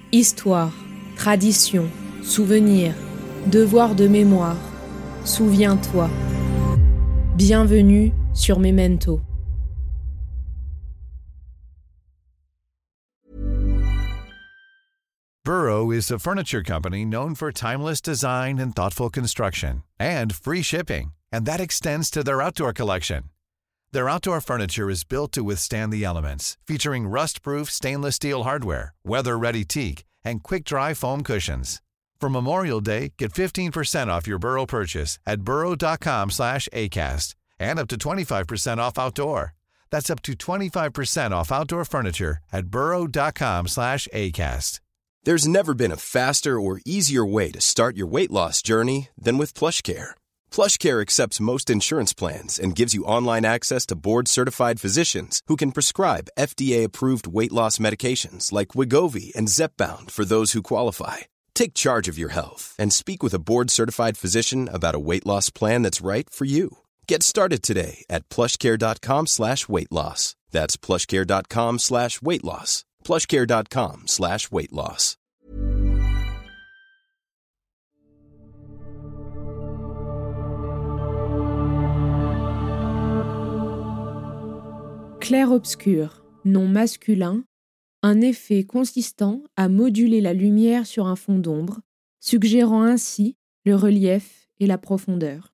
Histoire, tradition, souvenir, devoir de mémoire. Souviens-toi. Bienvenue sur Memento. Burrow is a furniture company known for timeless design and thoughtful construction, and free shipping, and that extends to their outdoor collection. Their outdoor furniture is built to withstand the elements, featuring rust-proof stainless steel hardware, weather-ready teak, and quick-dry foam cushions. For Memorial Day, get 15% off your Burrow purchase at burrow.com/acast, and up to 25% off outdoor. That's up to 25% off outdoor furniture at burrow.com/acast. There's never been a faster or easier way to start your weight loss journey than with PlushCare. PlushCare accepts most insurance plans and gives you online access to board-certified physicians who can prescribe FDA-approved weight loss medications like Wegovy and Zepbound for those who qualify. Take charge of your health and speak with a board-certified physician about a weight loss plan that's right for you. Get started today at plushcare.com/weight loss. That's plushcare.com/weight loss. plushcare.com/weight loss. Clair-obscur, nom masculin, un effet consistant à moduler la lumière sur un fond d'ombre, suggérant ainsi le relief et la profondeur.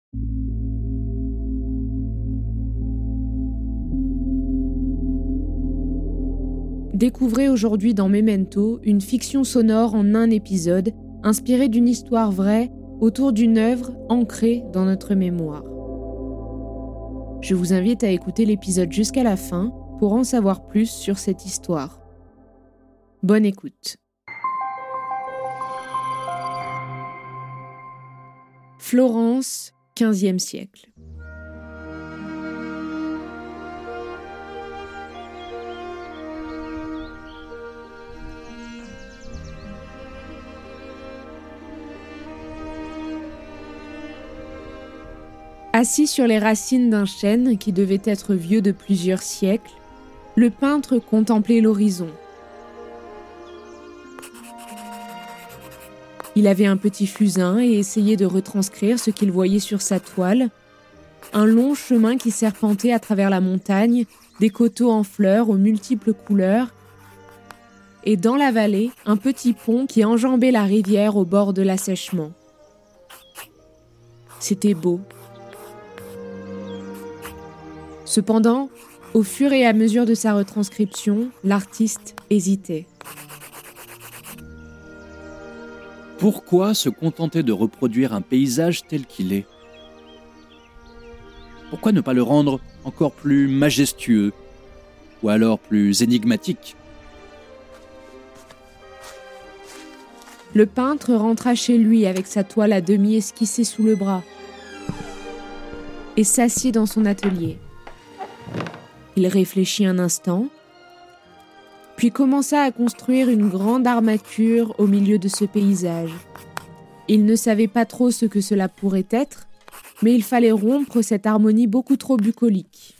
Découvrez aujourd'hui dans Memento une fiction sonore en un épisode, inspirée d'une histoire vraie autour d'une œuvre ancrée dans notre mémoire. Je vous invite à écouter l'épisode jusqu'à la fin pour en savoir plus sur cette histoire. Bonne écoute. Florence, XVe siècle. Assis sur les racines d'un chêne qui devait être vieux de plusieurs siècles, le peintre contemplait l'horizon. Il avait un petit fusain et essayait de retranscrire ce qu'il voyait sur sa toile, un long chemin qui serpentait à travers la montagne, des coteaux en fleurs aux multiples couleurs, et dans la vallée, un petit pont qui enjambait la rivière au bord de l'assèchement. C'était beau. Cependant, au fur et à mesure de sa retranscription, l'artiste hésitait. Pourquoi se contenter de reproduire un paysage tel qu'il est ? Pourquoi ne pas le rendre encore plus majestueux, ou alors plus énigmatique ? Le peintre rentra chez lui avec sa toile à demi esquissée sous le bras et s'assit dans son atelier. Il réfléchit un instant, puis commença à construire une grande armature au milieu de ce paysage. Il ne savait pas trop ce que cela pourrait être, mais il fallait rompre cette harmonie beaucoup trop bucolique.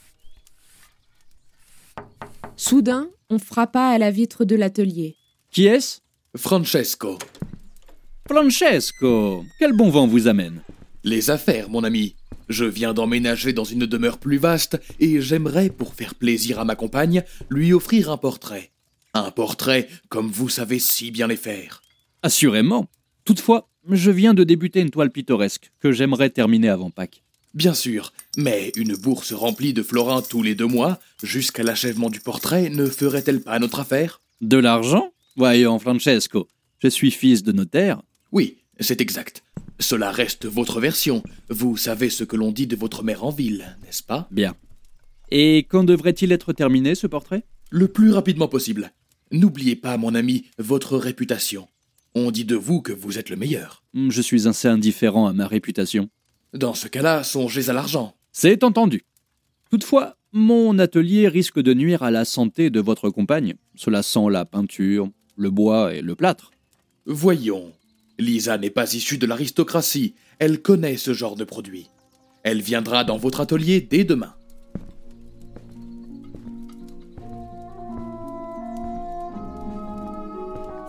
Soudain, on frappa à la vitre de l'atelier. Qui est-ce ? Francesco. Francesco, quel bon vent vous amène ? Les affaires, mon ami. Je viens d'emménager dans une demeure plus vaste et j'aimerais, pour faire plaisir à ma compagne, lui offrir un portrait. Un portrait comme vous savez si bien les faire. Assurément. Toutefois, je viens de débuter une toile pittoresque que j'aimerais terminer avant Pâques. Bien sûr, mais une bourse remplie de florins tous les 2 mois, jusqu'à l'achèvement du portrait, ne ferait-elle pas notre affaire ? De l'argent ? Voyons, Francesco, je suis fils de notaire. Oui, c'est exact. Cela reste votre version. Vous savez ce que l'on dit de votre mère en ville, n'est-ce pas ? Bien. Et quand devrait-il être terminé, ce portrait ? Le plus rapidement possible. N'oubliez pas, mon ami, votre réputation. On dit de vous que vous êtes le meilleur. Je suis assez indifférent à ma réputation. Dans ce cas-là, songez à l'argent. C'est entendu. Toutefois, mon atelier risque de nuire à la santé de votre compagne. Cela sent la peinture, le bois et le plâtre. Voyons. Lisa n'est pas issue de l'aristocratie. Elle connaît ce genre de produit. Elle viendra dans votre atelier dès demain.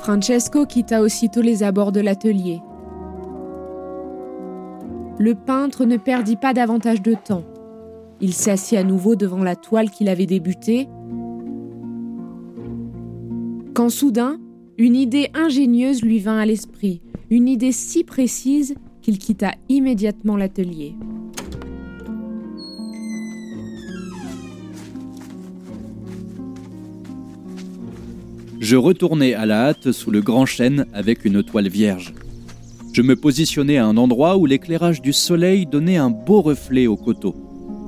Francesco quitta aussitôt les abords de l'atelier. Le peintre ne perdit pas davantage de temps. Il s'assit à nouveau devant la toile qu'il avait débutée, quand soudain, une idée ingénieuse lui vint à l'esprit, une idée si précise qu'il quitta immédiatement l'atelier. Je retournai à la hâte sous le grand chêne avec une toile vierge. Je me positionnai à un endroit où l'éclairage du soleil donnait un beau reflet au coteau.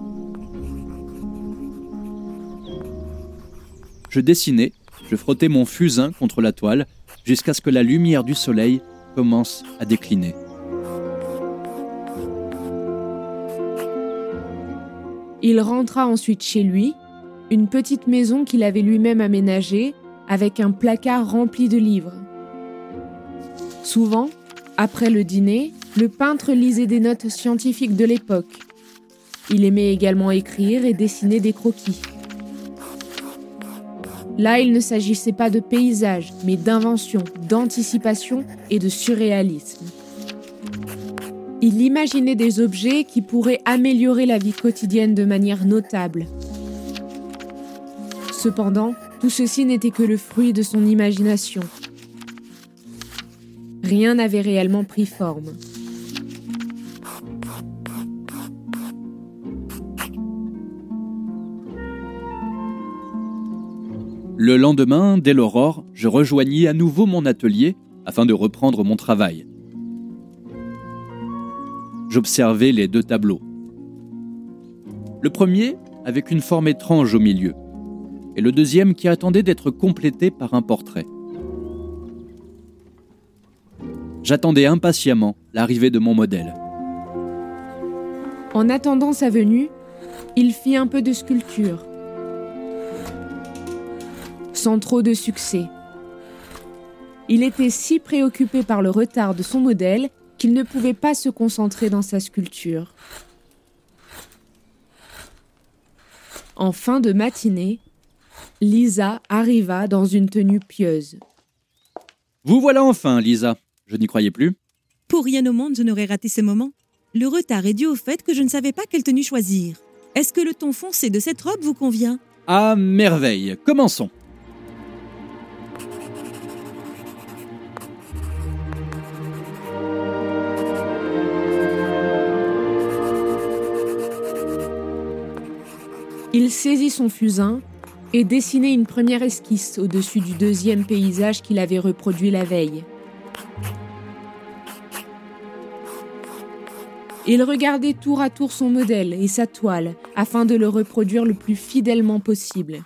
Je dessinais, je frottais mon fusain contre la toile jusqu'à ce que la lumière du soleil commence à décliner. Il rentra ensuite chez lui, une petite maison qu'il avait lui-même aménagée, avec un placard rempli de livres. Souvent, après le dîner, le peintre lisait des notes scientifiques de l'époque. Il aimait également écrire et dessiner des croquis. Là, il ne s'agissait pas de paysage, mais d'invention, d'anticipation et de surréalisme. Il imaginait des objets qui pourraient améliorer la vie quotidienne de manière notable. Cependant, tout ceci n'était que le fruit de son imagination. Rien n'avait réellement pris forme. Le lendemain, dès l'aurore, je rejoignis à nouveau mon atelier afin de reprendre mon travail. J'observais les deux tableaux. Le premier avec une forme étrange au milieu, et le deuxième qui attendait d'être complété par un portrait. J'attendais impatiemment l'arrivée de mon modèle. En attendant sa venue, il fit un peu de sculpture. Sans trop de succès. Il était si préoccupé par le retard de son modèle qu'il ne pouvait pas se concentrer dans sa sculpture. En fin de matinée, Lisa arriva dans une tenue pieuse. « Vous voilà enfin, Lisa. Je n'y croyais plus. » Pour rien au monde, je n'aurais raté ce moment. Le retard est dû au fait que je ne savais pas quelle tenue choisir. Est-ce que le ton foncé de cette robe vous convient ? À merveille. Commençons. Il saisit son fusain et dessinait une première esquisse au-dessus du deuxième paysage qu'il avait reproduit la veille. Il regardait tour à tour son modèle et sa toile afin de le reproduire le plus fidèlement possible.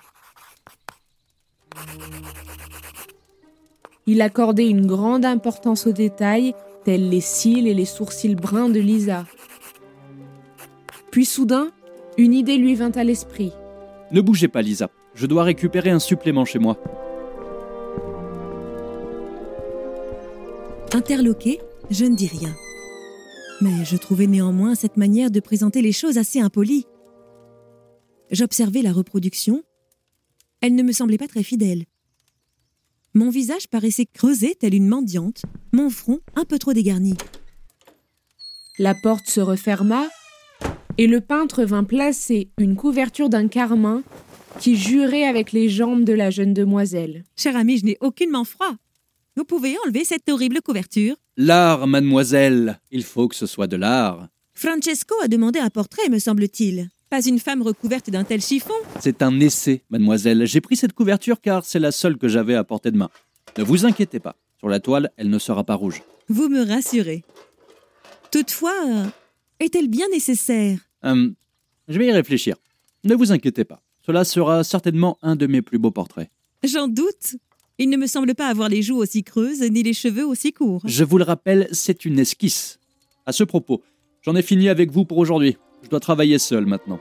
Il accordait une grande importance aux détails, tels les cils et les sourcils bruns de Lisa. Puis soudain, une idée lui vint à l'esprit. Ne bougez pas, Lisa. Je dois récupérer un supplément chez moi. Interloqué, je ne dis rien. Mais je trouvais néanmoins cette manière de présenter les choses assez impolie. J'observais la reproduction. Elle ne me semblait pas très fidèle. Mon visage paraissait creusé tel une mendiante, mon front un peu trop dégarni. La porte se referma et le peintre vint placer une couverture d'un carmin qui jurait avec les jambes de la jeune demoiselle. Cher ami, je n'ai aucunement froid. Vous pouvez enlever cette horrible couverture ? L'art, mademoiselle. Il faut que ce soit de l'art. Francesco a demandé un portrait, me semble-t-il. Pas une femme recouverte d'un tel chiffon. C'est un essai, mademoiselle. J'ai pris cette couverture car c'est la seule que j'avais à portée de main. Ne vous inquiétez pas. Sur la toile, elle ne sera pas rouge. Vous me rassurez. Toutefois, est-elle bien nécessaire ? Je vais y réfléchir. Ne vous inquiétez pas. Cela sera certainement un de mes plus beaux portraits. J'en doute. Il ne me semble pas avoir les joues aussi creuses ni les cheveux aussi courts. Je vous le rappelle, c'est une esquisse. À ce propos, j'en ai fini avec vous pour aujourd'hui. Je dois travailler seul maintenant.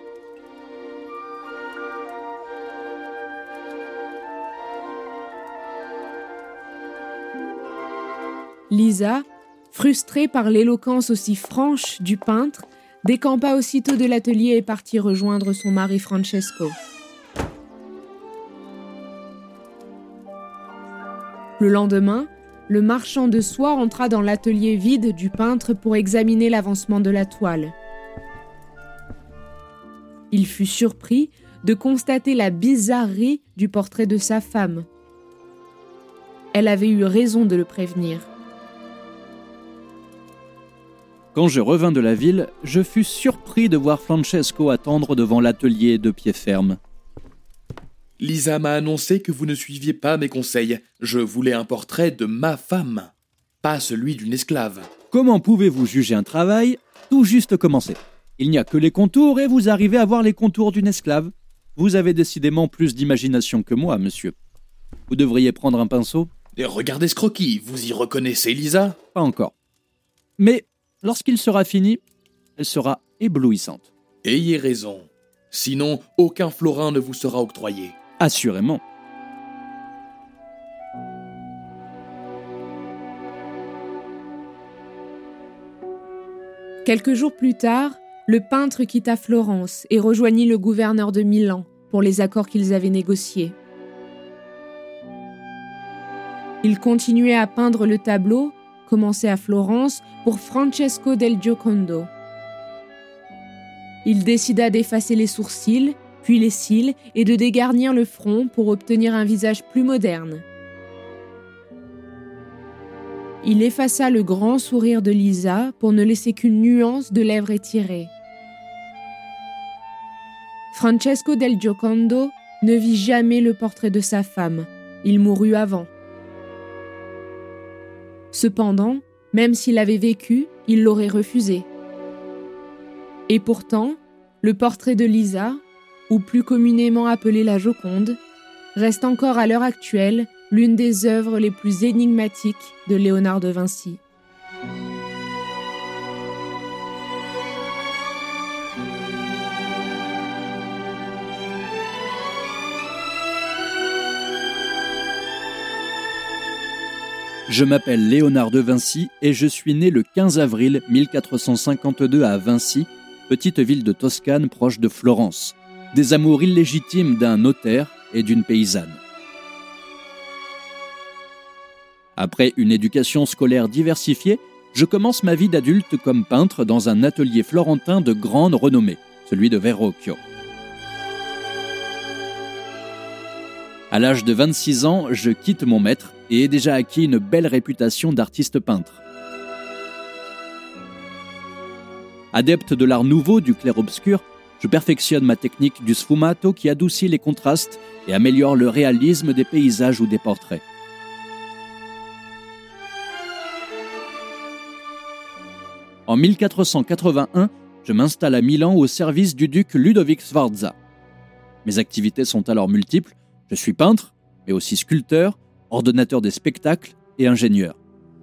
Lisa, frustrée par l'éloquence aussi franche du peintre, décampa aussitôt de l'atelier et partit rejoindre son mari Francesco. Le lendemain, le marchand de soie entra dans l'atelier vide du peintre pour examiner l'avancement de la toile. Il fut surpris de constater la bizarrerie du portrait de sa femme. Elle avait eu raison de le prévenir. Quand je revins de la ville, je fus surpris de voir Francesco attendre devant l'atelier de pied ferme. Lisa m'a annoncé que vous ne suiviez pas mes conseils. Je voulais un portrait de ma femme, pas celui d'une esclave. Comment pouvez-vous juger un travail tout juste commencé ? Il n'y a que les contours et vous arrivez à voir les contours d'une esclave. Vous avez décidément plus d'imagination que moi, monsieur. Vous devriez prendre un pinceau ? Et regardez ce croquis, vous y reconnaissez Lisa ? Pas encore. Mais lorsqu'il sera fini, elle sera éblouissante. Ayez raison. Sinon, aucun florin ne vous sera octroyé. Assurément. Quelques jours plus tard, le peintre quitta Florence et rejoignit le gouverneur de Milan pour les accords qu'ils avaient négociés. Il continuait à peindre le tableau, commencé à Florence, pour Francesco del Giocondo. Il décida d'effacer les sourcils, puis les cils, et de dégarnir le front pour obtenir un visage plus moderne. Il effaça le grand sourire de Lisa pour ne laisser qu'une nuance de lèvres étirées. Francesco del Giocondo ne vit jamais le portrait de sa femme. Il mourut avant. Cependant, même s'il avait vécu, il l'aurait refusé. Et pourtant, le portrait de Lisa, ou plus communément appelée la Joconde, reste encore à l'heure actuelle l'une des œuvres les plus énigmatiques de Léonard de Vinci. Je m'appelle Léonard de Vinci et je suis né le 15 avril 1452 à Vinci, petite ville de Toscane proche de Florence, des amours illégitimes d'un notaire et d'une paysanne. Après une éducation scolaire diversifiée, je commence ma vie d'adulte comme peintre dans un atelier florentin de grande renommée, celui de Verrocchio. À l'âge de 26 ans, je quitte mon maître et ai déjà acquis une belle réputation d'artiste peintre. Adepte de l'art nouveau du clair-obscur, je perfectionne ma technique du sfumato qui adoucit les contrastes et améliore le réalisme des paysages ou des portraits. En 1481, je m'installe à Milan au service du duc Ludovic Sforza. Mes activités sont alors multiples. Je suis peintre, mais aussi sculpteur, ordonnateur des spectacles et ingénieur.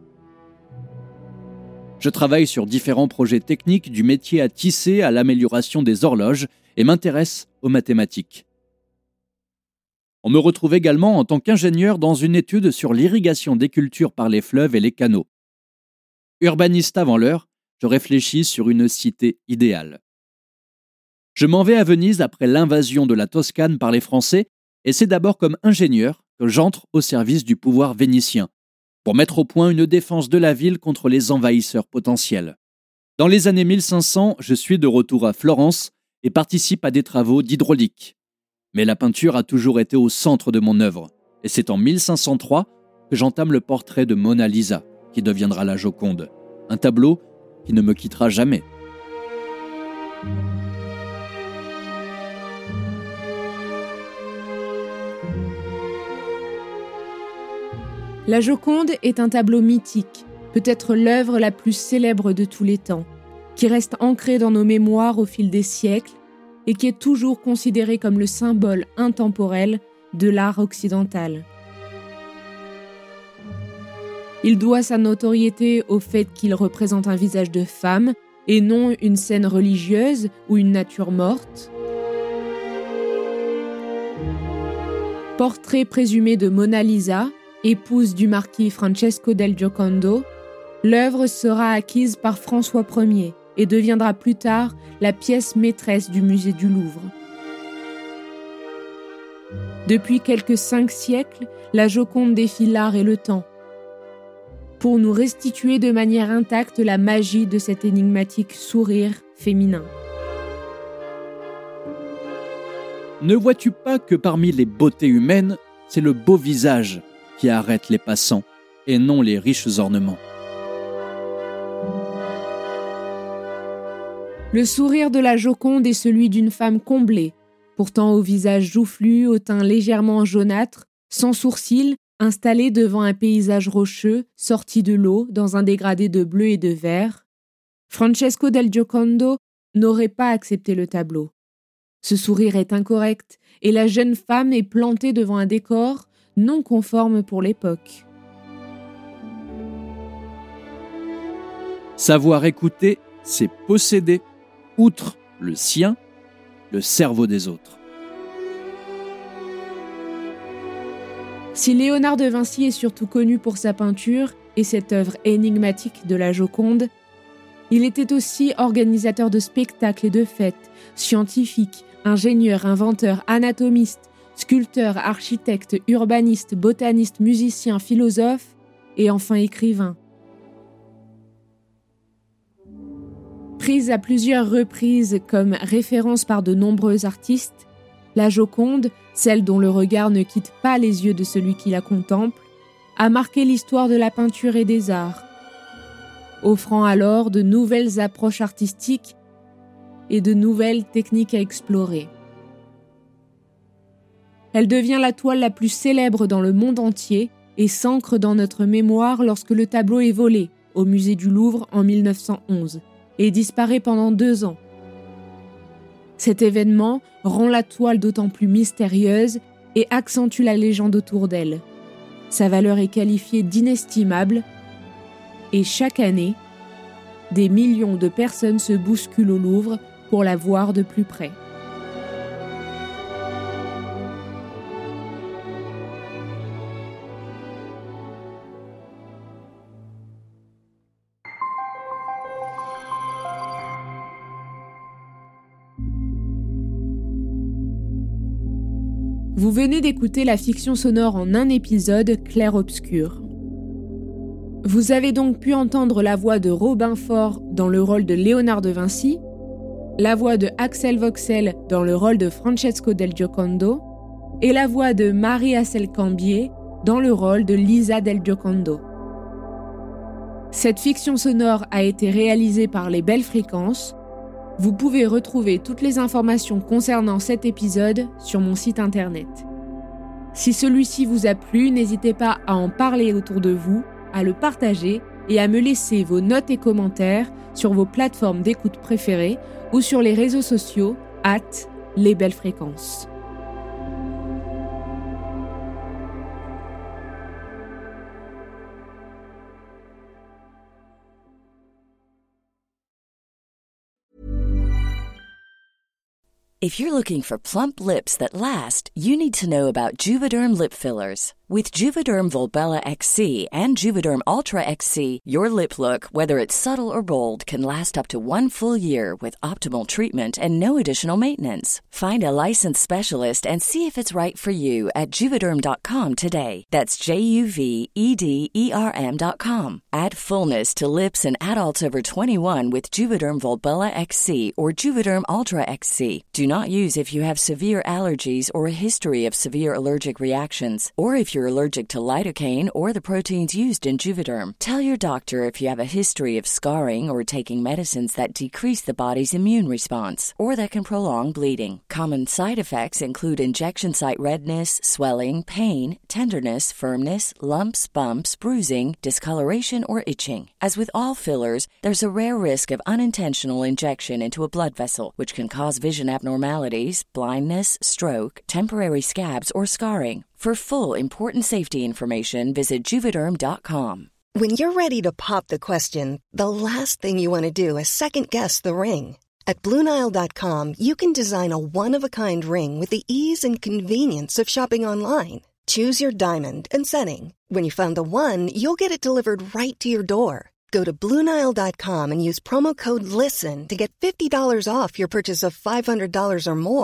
Je travaille sur différents projets techniques du métier à tisser à l'amélioration des horloges et m'intéresse aux mathématiques. On me retrouve également en tant qu'ingénieur dans une étude sur l'irrigation des cultures par les fleuves et les canaux. Urbaniste avant l'heure, je réfléchis sur une cité idéale. Je m'en vais à Venise après l'invasion de la Toscane par les Français et c'est d'abord comme ingénieur que j'entre au service du pouvoir vénitien pour mettre au point une défense de la ville contre les envahisseurs potentiels. Dans les années 1500, je suis de retour à Florence et participe à des travaux d'hydraulique. Mais la peinture a toujours été au centre de mon œuvre et c'est en 1503 que j'entame le portrait de Mona Lisa, qui deviendra la Joconde, un tableau qui ne me quittera jamais. La Joconde est un tableau mythique, peut-être l'œuvre la plus célèbre de tous les temps, qui reste ancrée dans nos mémoires au fil des siècles et qui est toujours considéré comme le symbole intemporel de l'art occidental. Il doit sa notoriété au fait qu'il représente un visage de femme et non une scène religieuse ou une nature morte. Portrait présumé de Mona Lisa, épouse du marquis Francesco del Giocondo, l'œuvre sera acquise par François Ier et deviendra plus tard la pièce maîtresse du musée du Louvre. Depuis quelques 5 siècles, la Joconde défie l'art et le temps, pour nous restituer de manière intacte la magie de cet énigmatique sourire féminin. Ne vois-tu pas que parmi les beautés humaines, c'est le beau visage qui arrête les passants, et non les riches ornements. Le sourire de la Joconde est celui d'une femme comblée, pourtant au visage joufflu, au teint légèrement jaunâtre, sans sourcils, installée devant un paysage rocheux, sorti de l'eau, dans un dégradé de bleu et de vert. Francesco del Giocondo n'aurait pas accepté le tableau. Ce sourire est incorrect, et la jeune femme est plantée devant un décor non conforme pour l'époque. Savoir écouter, c'est posséder, outre le sien, le cerveau des autres. Si Léonard de Vinci est surtout connu pour sa peinture et cette œuvre énigmatique de la Joconde, il était aussi organisateur de spectacles et de fêtes, scientifique, ingénieur, inventeur, anatomiste, sculpteur, architecte, urbaniste, botaniste, musicien, philosophe et enfin écrivain. Prise à plusieurs reprises comme référence par de nombreux artistes, la Joconde, celle dont le regard ne quitte pas les yeux de celui qui la contemple, a marqué l'histoire de la peinture et des arts, offrant alors de nouvelles approches artistiques et de nouvelles techniques à explorer. Elle devient la toile la plus célèbre dans le monde entier et s'ancre dans notre mémoire lorsque le tableau est volé au musée du Louvre en 1911 et disparaît pendant 2 ans. Cet événement rend la toile d'autant plus mystérieuse et accentue la légende autour d'elle. Sa valeur est qualifiée d'inestimable et chaque année, des millions de personnes se bousculent au Louvre pour la voir de plus près. Vous venez d'écouter la fiction sonore en un épisode clair-obscur. Vous avez donc pu entendre la voix de Robin Faure dans le rôle de Léonard de Vinci, la voix de Axel Voxel dans le rôle de Francesco del Giocondo et la voix de Marie Assel-Cambier dans le rôle de Lisa del Giocondo. Cette fiction sonore a été réalisée par Les Belles Fréquences. Vous pouvez retrouver toutes les informations concernant cet épisode sur mon site internet. Si celui-ci vous a plu, n'hésitez pas à en parler autour de vous, à le partager et à me laisser vos notes et commentaires sur vos plateformes d'écoute préférées ou sur les réseaux sociaux @lesbellesfréquences. If you're looking for plump lips that last, you need to know about Juvederm lip fillers. With Juvederm Volbella XC and Juvederm Ultra XC, your lip look, whether it's subtle or bold, can last up to 1 full year with optimal treatment and no additional maintenance. Find a licensed specialist and see if it's right for you at Juvederm.com today. That's JUVEDERM.com. Add fullness to lips in adults over 21 with Juvederm Volbella XC or Juvederm Ultra XC. Do not use if you have severe allergies or a history of severe allergic reactions, or if you're allergic to lidocaine or the proteins used in Juvederm. Tell your doctor if you have a history of scarring or taking medicines that decrease the body's immune response or that can prolong bleeding. Common side effects include injection site redness, swelling, pain, tenderness, firmness, lumps, bumps, bruising, discoloration, or itching. As with all fillers, there's a rare risk of unintentional injection into a blood vessel, which can cause vision abnormalities, blindness, stroke, temporary scabs, or scarring. For full important safety information, visit Juvederm.com. When you're ready to pop the question, the last thing you want to do is second-guess the ring. At BlueNile.com, you can design a one-of-a-kind ring with the ease and convenience of shopping online. Choose your diamond and setting. When you find the one, you'll get it delivered right to your door. Go to BlueNile.com and use promo code LISTEN to get $50 off your purchase of $500 or more.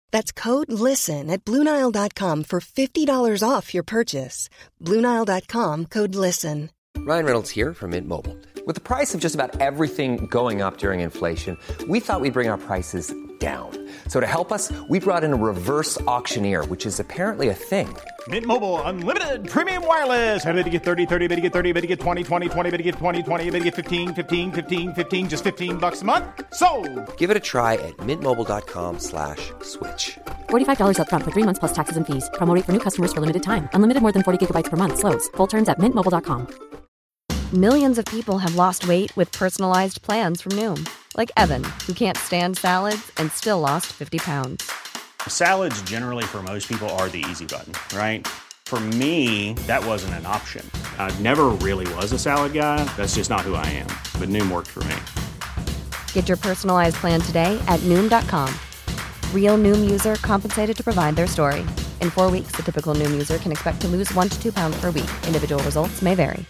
That's code LISTEN at BlueNile.com for $50 off your purchase. BlueNile.com, code LISTEN. Ryan Reynolds here from Mint Mobile. With the price of just about everything going up during inflation, we thought we'd bring our prices down. So to help us, we brought in a reverse auctioneer, which is apparently a thing. Mint Mobile Unlimited Premium Wireless. How to get 30, 30, bit to get 30, bit to get 20, 20, 20, bit to get 20, 20, bit to get 15, 15, 15, 15, just $15 a month? Sold! Give it a try at mintmobile.com/switch. $45 up front for 3 months plus taxes and fees. Promo rate for new customers for limited time. Unlimited more than 40 gigabytes per month. Slows full terms at mintmobile.com. Millions of people have lost weight with personalized plans from Noom. Like Evan, who can't stand salads and still lost 50 pounds. Salads generally for most people are the easy button, right? For me, that wasn't an option. I never really was a salad guy. That's just not who I am. But Noom worked for me. Get your personalized plan today at Noom.com. Real Noom user compensated to provide their story. In 4 weeks, the typical Noom user can expect to lose 1 to 2 pounds per week. Individual results may vary.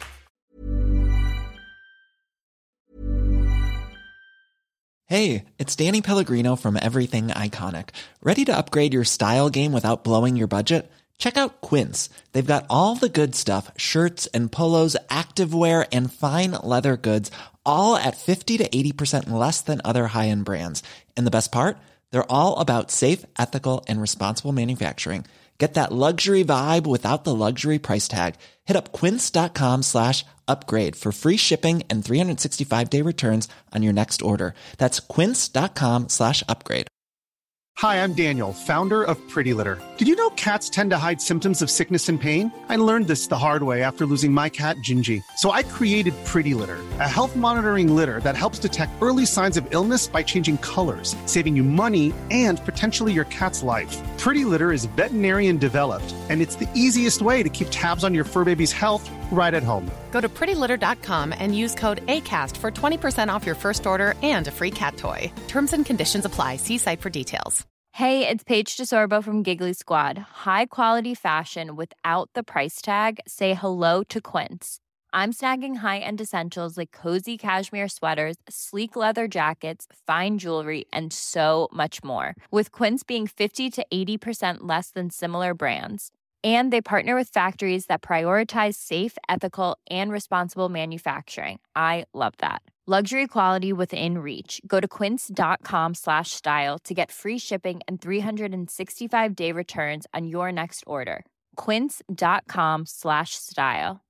Hey, it's Danny Pellegrino from Everything Iconic. Ready to upgrade your style game without blowing your budget? Check out Quince. They've got all the good stuff, shirts and polos, activewear, and fine leather goods, all at 50 to 80% less than other high-end brands. And the best part? They're all about safe, ethical, and responsible manufacturing. Get that luxury vibe without the luxury price tag. Hit up quince.com/upgrade for free shipping and 365-day returns on your next order. That's quince.com/upgrade. Hi, I'm Daniel, founder of Pretty Litter. Did you know cats tend to hide symptoms of sickness and pain? I learned this the hard way after losing my cat, Gingy. So I created Pretty Litter, a health monitoring litter that helps detect early signs of illness by changing colors, saving you money and potentially your cat's life. Pretty Litter is veterinarian developed, and it's the easiest way to keep tabs on your fur baby's health right at home. Go to prettylitter.com and use code ACAST for 20% off your first order and a free cat toy. Terms and conditions apply. See site for details. Hey, it's Paige DeSorbo from Giggly Squad. High quality fashion without the price tag. Say hello to Quince. I'm snagging high-end essentials like cozy cashmere sweaters, sleek leather jackets, fine jewelry, and so much more. With Quince being 50 to 80% less than similar brands. And they partner with factories that prioritize safe, ethical, and responsible manufacturing. I love that. Luxury quality within reach. Go to quince.com/style to get free shipping and 365-day returns on your next order. Quince.com/style.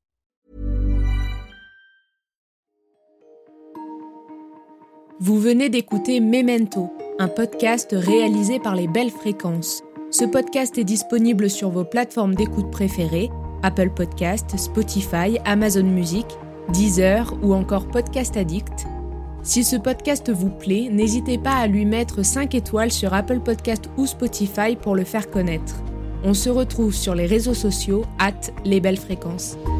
Vous venez d'écouter Memento, un podcast réalisé par les Belles Fréquences. Ce podcast est disponible sur vos plateformes d'écoute préférées, Apple Podcasts, Spotify, Amazon Music, Deezer ou encore Podcast Addict. Si ce podcast vous plaît, n'hésitez pas à lui mettre 5 étoiles sur Apple Podcasts ou Spotify pour le faire connaître. On se retrouve sur les réseaux sociaux @lesbellesfréquences.